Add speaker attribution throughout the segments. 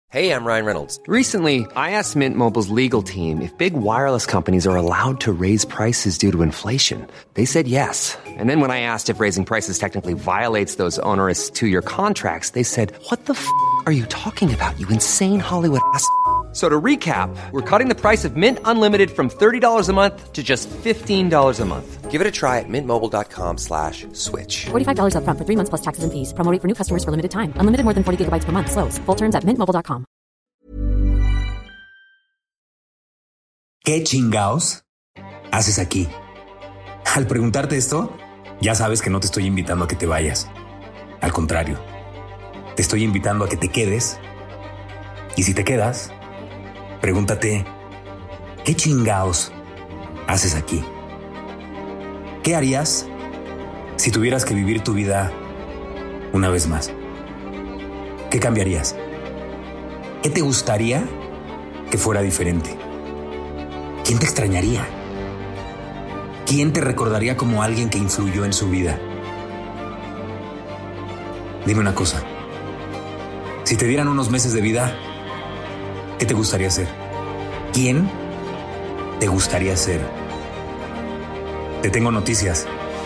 Speaker 1: Hey, I'm Ryan Reynolds.
Speaker 2: Recently, I asked Mint Mobile's legal team if big wireless companies are allowed to raise prices due to inflation. They said yes. And then when I asked if raising prices technically violates those onerous two-year contracts, they said, "What the f*** are you talking about, you insane Hollywood ass?" So to recap, we're cutting the price of Mint Unlimited from $30 a month to just $15 a month.
Speaker 1: Give it a try at mintmobile.com/switch.
Speaker 3: $45 up front for 3 months plus taxes and fees. Promo rate for new customers for limited time. Unlimited more than 40 gigabytes per month. Slows full terms at mintmobile.com.
Speaker 4: ¿Qué chingaos haces aquí? Al preguntarte esto, ya sabes que no te estoy invitando a que te vayas. Al contrario, te estoy invitando a que te quedes. Y si te quedas, pregúntate, ¿qué chingaos haces aquí? ¿Qué harías si tuvieras que vivir tu vida una vez más? ¿Qué cambiarías? ¿Qué te gustaría que fuera diferente? ¿Quién te extrañaría? ¿Quién te recordaría como alguien que influyó en su vida? Dime una cosa. Si te dieran unos meses de vida, ¿qué te gustaría ser? ¿Quién te gustaría ser? Te tengo noticias.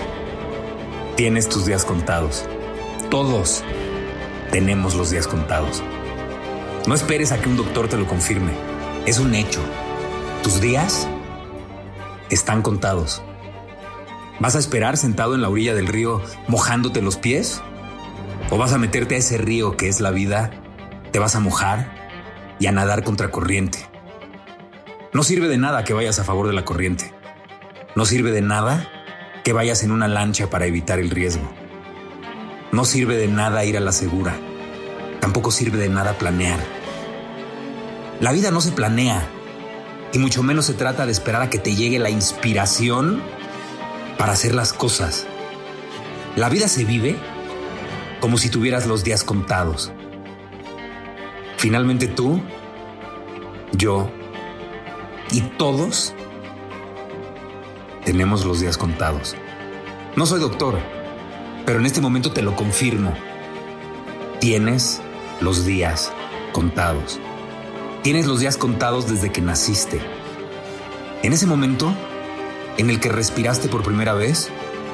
Speaker 4: Tienes tus días contados. Todos tenemos los días contados. No esperes a que un doctor te lo confirme. Es un hecho. Tus días están contados. ¿Vas a esperar sentado en la orilla del río mojándote los pies? ¿O vas a meterte a ese río que es la vida? ¿Te vas a mojar y a nadar contra corriente? No sirve de nada que vayas a favor de la corriente. No sirve de nada que vayas en una lancha para evitar el riesgo. No sirve de nada ir a la segura. Tampoco sirve de nada planear. La vida no se planea, y mucho menos se trata de esperar a que te llegue la inspiración para hacer las cosas. La vida se vive como si tuvieras los días contados. Finalmente tú, yo y todos tenemos los días contados. No soy doctor, pero en este momento te lo confirmo. Tienes los días contados. Tienes los días contados desde que naciste. En ese momento en el que respiraste por primera vez,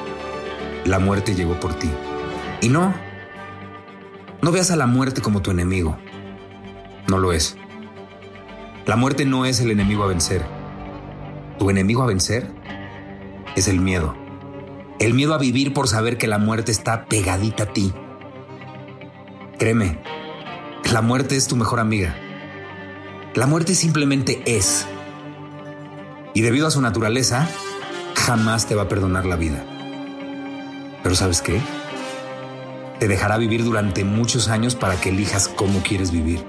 Speaker 4: la muerte llegó por ti. Y no veas a la muerte como tu enemigo. No lo es. La muerte no es el enemigo a vencer. Tu enemigo a vencer es el miedo. El miedo a vivir por saber que la muerte está pegadita a ti. Créeme, la muerte es tu mejor amiga. La muerte simplemente es. Y debido a su naturaleza, jamás te va a perdonar la vida. Pero ¿sabes qué? Te dejará vivir durante muchos años para que elijas cómo quieres vivir.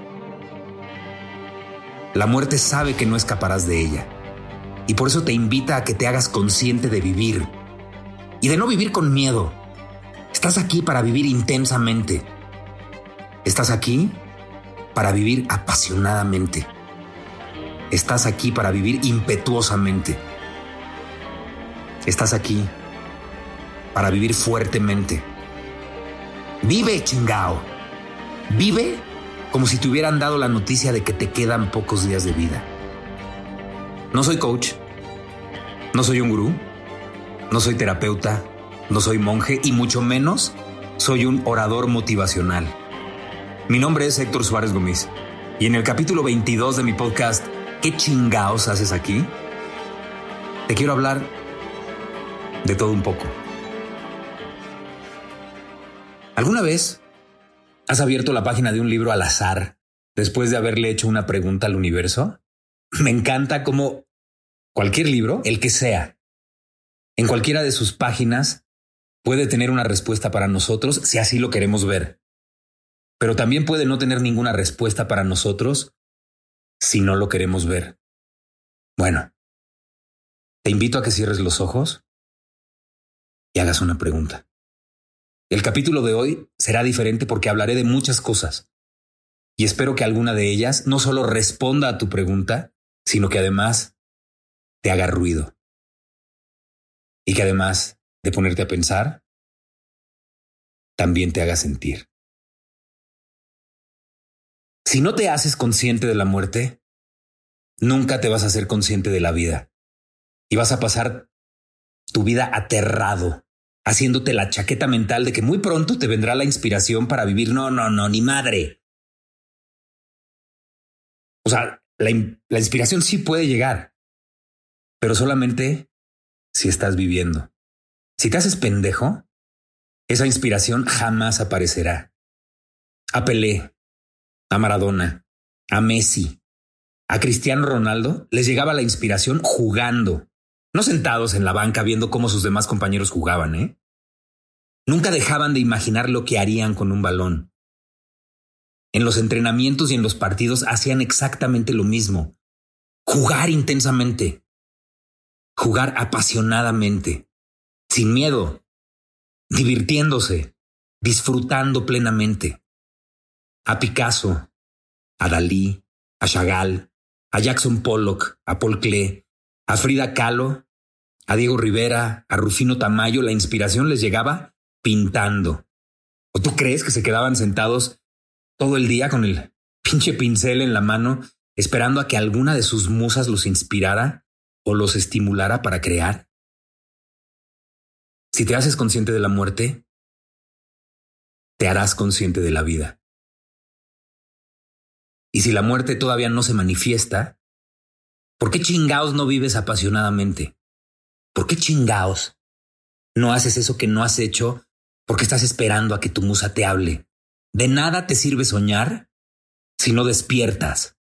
Speaker 4: La muerte sabe que no escaparás de ella. Y por eso te invita a que te hagas consciente de vivir. Y de no vivir con miedo. Estás aquí para vivir intensamente. Estás aquí para vivir apasionadamente. Estás aquí para vivir impetuosamente. Estás aquí para vivir fuertemente. Vive, chingao. Vive como si te hubieran dado la noticia de que te quedan pocos días de vida. No soy coach, no soy un gurú, no soy terapeuta, no soy monje y mucho menos soy un orador motivacional. Mi nombre es Héctor Suárez Gómez y en el capítulo 22 de mi podcast ¿Qué chingaos haces aquí? Te quiero hablar de todo un poco. ¿Alguna vez has abierto la página de un libro al azar después de haberle hecho una pregunta al universo? Me encanta cómo cualquier libro, el que sea, en cualquiera de sus páginas puede tener una respuesta para nosotros si así lo queremos ver. Pero también puede no tener ninguna respuesta para nosotros si no lo queremos ver. Bueno, te invito a que cierres los ojos y hagas una pregunta. El capítulo de hoy será diferente porque hablaré de muchas cosas y espero que alguna de ellas no solo responda a tu pregunta, sino que además te haga ruido y que además de ponerte a pensar, también te haga sentir. Si no te haces consciente de la muerte, nunca te vas a ser consciente de la vida. Y vas a pasar tu vida aterrado, haciéndote la chaqueta mental de que muy pronto te vendrá la inspiración para vivir. No, ni madre. O sea, la inspiración sí puede llegar, pero solamente si estás viviendo. Si te haces pendejo, esa inspiración jamás aparecerá. A Pelé, a Maradona, a Messi, a Cristiano Ronaldo les llegaba la inspiración jugando, no sentados en la banca viendo cómo sus demás compañeros jugaban, ¿eh? Nunca dejaban de imaginar lo que harían con un balón. En los entrenamientos y en los partidos hacían exactamente lo mismo. Jugar intensamente. Jugar apasionadamente. Sin miedo. Divirtiéndose. Disfrutando plenamente. A Picasso, a Dalí, a Chagall, a Jackson Pollock, a Paul Klee, a Frida Kahlo, a Diego Rivera, a Rufino Tamayo, la inspiración les llegaba pintando. ¿O tú crees que se quedaban sentados todo el día con el pinche pincel en la mano, esperando a que alguna de sus musas los inspirara o los estimulara para crear? Si te haces consciente de la muerte, te harás consciente de la vida. Y si la muerte todavía no se manifiesta, ¿por qué chingaos no vives apasionadamente? ¿Por qué chingaos no haces eso que no has hecho porque estás esperando a que tu musa te hable? De nada te sirve soñar si no despiertas.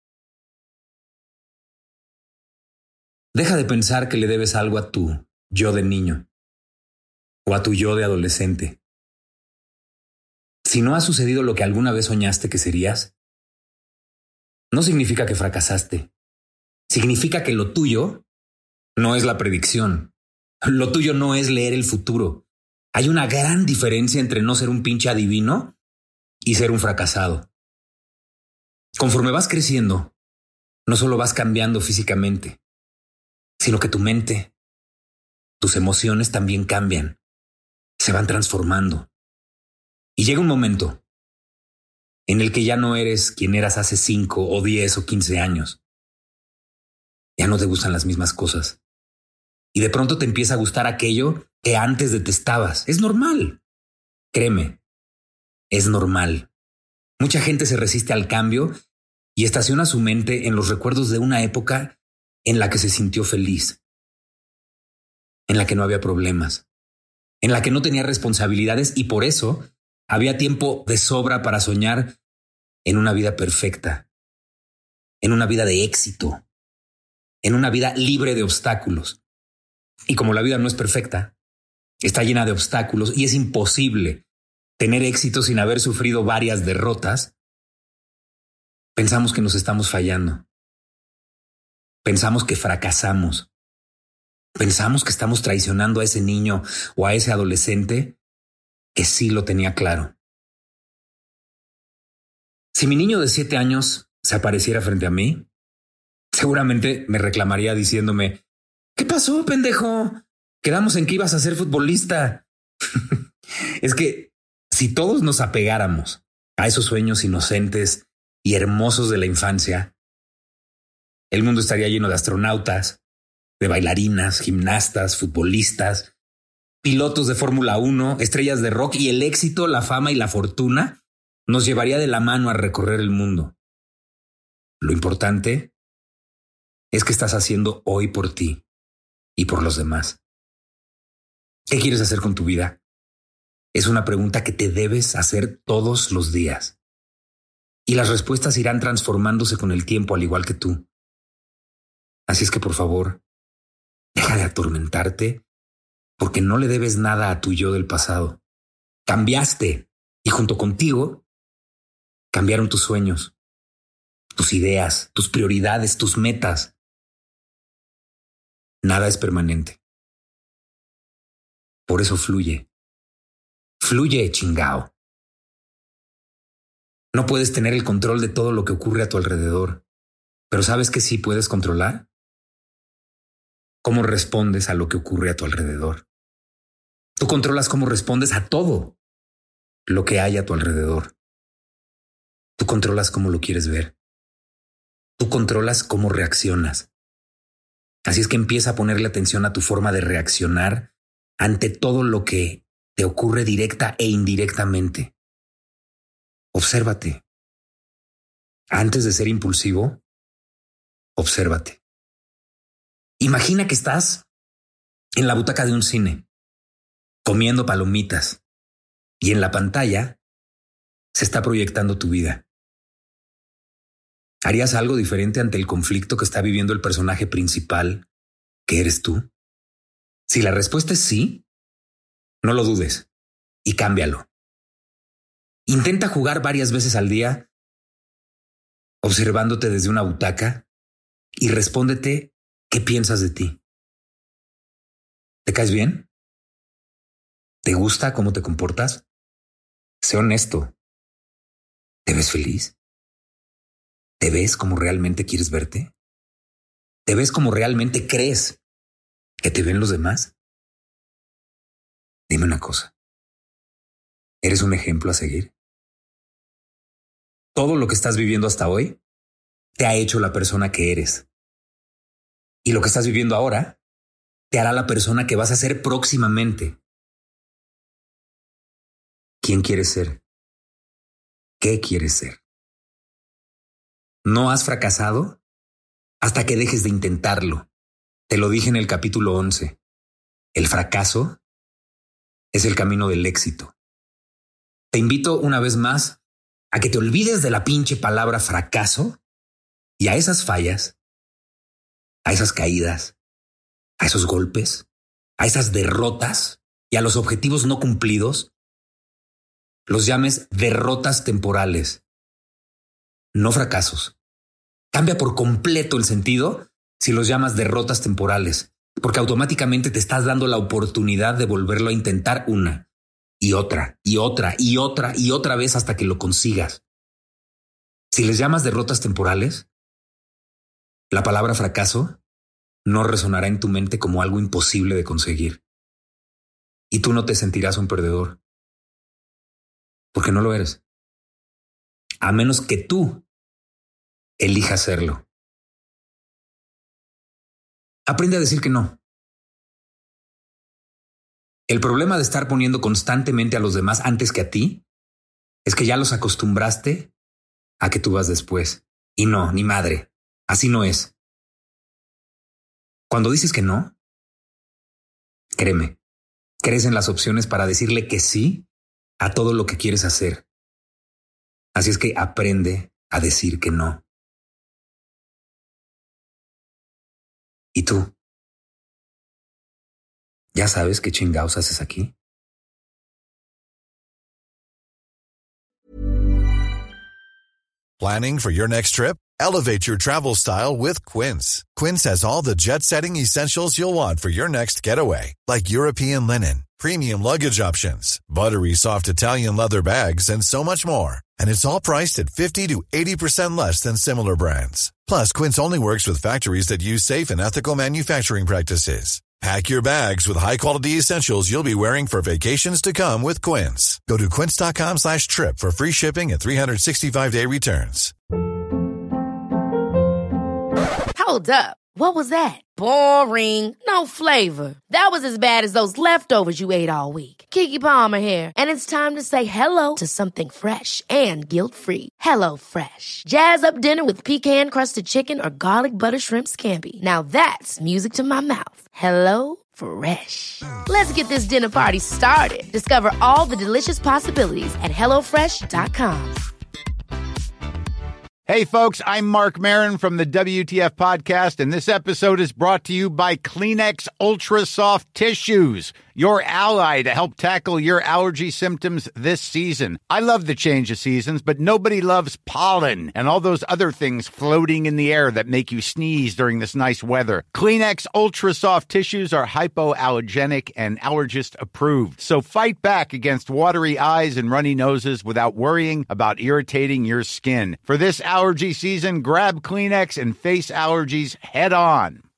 Speaker 4: Deja de pensar que le debes algo a tu yo de niño o a tu yo de adolescente. Si no ha sucedido lo que alguna vez soñaste que serías, no significa que fracasaste. Significa que lo tuyo no es la predicción. Lo tuyo no es leer el futuro. Hay una gran diferencia entre no ser un pinche adivino y ser un fracasado. Conforme vas creciendo, no solo vas cambiando físicamente, sino que tu mente, tus emociones también cambian, se van transformando. Y llega un momento en el que ya no eres quien eras hace 5 o 10 o 15 años. Ya no te gustan las mismas cosas. Y de pronto te empieza a gustar aquello que antes detestabas. Es normal. Créeme, es normal. Mucha gente se resiste al cambio y estaciona su mente en los recuerdos de una época en la que se sintió feliz, en la que no había problemas, en la que no tenía responsabilidades y por eso había tiempo de sobra para soñar en una vida perfecta, en una vida de éxito, en una vida libre de obstáculos. Y como la vida no es perfecta, está llena de obstáculos y es imposible tener éxito sin haber sufrido varias derrotas, pensamos que nos estamos fallando. Pensamos que fracasamos. Pensamos que estamos traicionando a ese niño o a ese adolescente que sí lo tenía claro. Si mi niño de 7 años se apareciera frente a mí, seguramente me reclamaría diciéndome: ¿qué pasó, pendejo? Quedamos en que ibas a ser futbolista. Es que si todos nos apegáramos a esos sueños inocentes y hermosos de la infancia, el mundo estaría lleno de astronautas, de bailarinas, gimnastas, futbolistas, pilotos de Fórmula 1, estrellas de rock, y el éxito, la fama y la fortuna nos llevaría de la mano a recorrer el mundo. Lo importante es qué estás haciendo hoy por ti y por los demás. ¿Qué quieres hacer con tu vida? Es una pregunta que te debes hacer todos los días. Y las respuestas irán transformándose con el tiempo, al igual que tú. Así es que, por favor, deja de atormentarte, porque no le debes nada a tu yo del pasado. Cambiaste y junto contigo cambiaron tus sueños, tus ideas, tus prioridades, tus metas. Nada es permanente. Por eso fluye. Fluye, chingao. No puedes tener el control de todo lo que ocurre a tu alrededor, pero ¿sabes qué sí puedes controlar? ¿Cómo respondes a lo que ocurre a tu alrededor? Tú controlas cómo respondes a todo lo que hay a tu alrededor. Tú controlas cómo lo quieres ver. Tú controlas cómo reaccionas. Así es que empieza a ponerle atención a tu forma de reaccionar ante todo lo que te ocurre directa e indirectamente. Obsérvate. Antes de ser impulsivo, obsérvate. Imagina que estás en la butaca de un cine, comiendo palomitas, y en la pantalla se está proyectando tu vida. ¿Harías algo diferente ante el conflicto que está viviendo el personaje principal, que eres tú? Si la respuesta es sí, no lo dudes y cámbialo. Intenta jugar varias veces al día, observándote desde una butaca, y respóndete qué piensas de ti. ¿Te caes bien? ¿Te gusta cómo te comportas? Sé honesto. ¿Te ves feliz? ¿Te ves como realmente quieres verte? ¿Te ves como realmente crees que te ven los demás? Dime una cosa. ¿Eres un ejemplo a seguir? Todo lo que estás viviendo hasta hoy te ha hecho la persona que eres. Y lo que estás viviendo ahora te hará la persona que vas a ser próximamente. ¿Quién quieres ser? ¿Qué quieres ser? No has fracasado hasta que dejes de intentarlo. Te lo dije en el capítulo 11. El fracaso es el camino del éxito. Te invito una vez más a que te olvides de la pinche palabra fracaso y a esas fallas, a esas caídas, a esos golpes, a esas derrotas y a los objetivos no cumplidos, los llames derrotas temporales, no fracasos. Cambia por completo el sentido si los llamas derrotas temporales, porque automáticamente te estás dando la oportunidad de volverlo a intentar una y otra y otra y otra y otra vez hasta que lo consigas. Si les llamas derrotas temporales, la palabra fracaso no resonará en tu mente como algo imposible de conseguir. Y tú no te sentirás un perdedor, porque no lo eres. A menos que tú elijas serlo. Aprende a decir que no. El problema de estar poniendo constantemente a los demás antes que a ti es que ya los acostumbraste a que tú vas después. Y no, ni madre. Así no es. Cuando dices que no, créeme, crees en las opciones para decirle que sí a todo lo que quieres hacer. Así es que aprende a decir que no. ¿Y tú? ¿Ya sabes qué chingados haces aquí?
Speaker 5: Planning for your next trip? Elevate your travel style with Quince. Quince has all the jet-setting essentials you'll want for your next getaway, like European linen, premium luggage options, buttery soft Italian leather bags, and so much more. And it's all priced at 50 to 80% less than similar brands. Plus, Quince only works with factories that use safe and ethical manufacturing practices. Pack your bags with high-quality essentials you'll be wearing for vacations to come with Quince. Go to quince.com/trip for free shipping and 365-day returns.
Speaker 6: Hold up. What was that? Boring. No flavor. That was as bad as those leftovers you ate all week. Keke Palmer here, and it's time to say hello to something fresh and guilt-free. Hello Fresh. Jazz up dinner with pecan-crusted chicken or garlic butter shrimp scampi. Now that's music to my mouth. Hello Fresh. Let's get this dinner party started. Discover all the delicious possibilities at HelloFresh.com.
Speaker 7: Hey, folks, I'm Mark Maron from the WTF Podcast, and this episode is brought to you by Kleenex Ultra Soft Tissues, your ally to help tackle your allergy symptoms this season. I love the change of seasons, but nobody loves pollen and all those other things floating in the air that make you sneeze during this nice weather. Kleenex Ultra Soft Tissues are hypoallergenic and allergist approved, so fight back against watery eyes and runny noses without worrying about irritating your skin. For this allergy season, grab Kleenex and face allergies head on.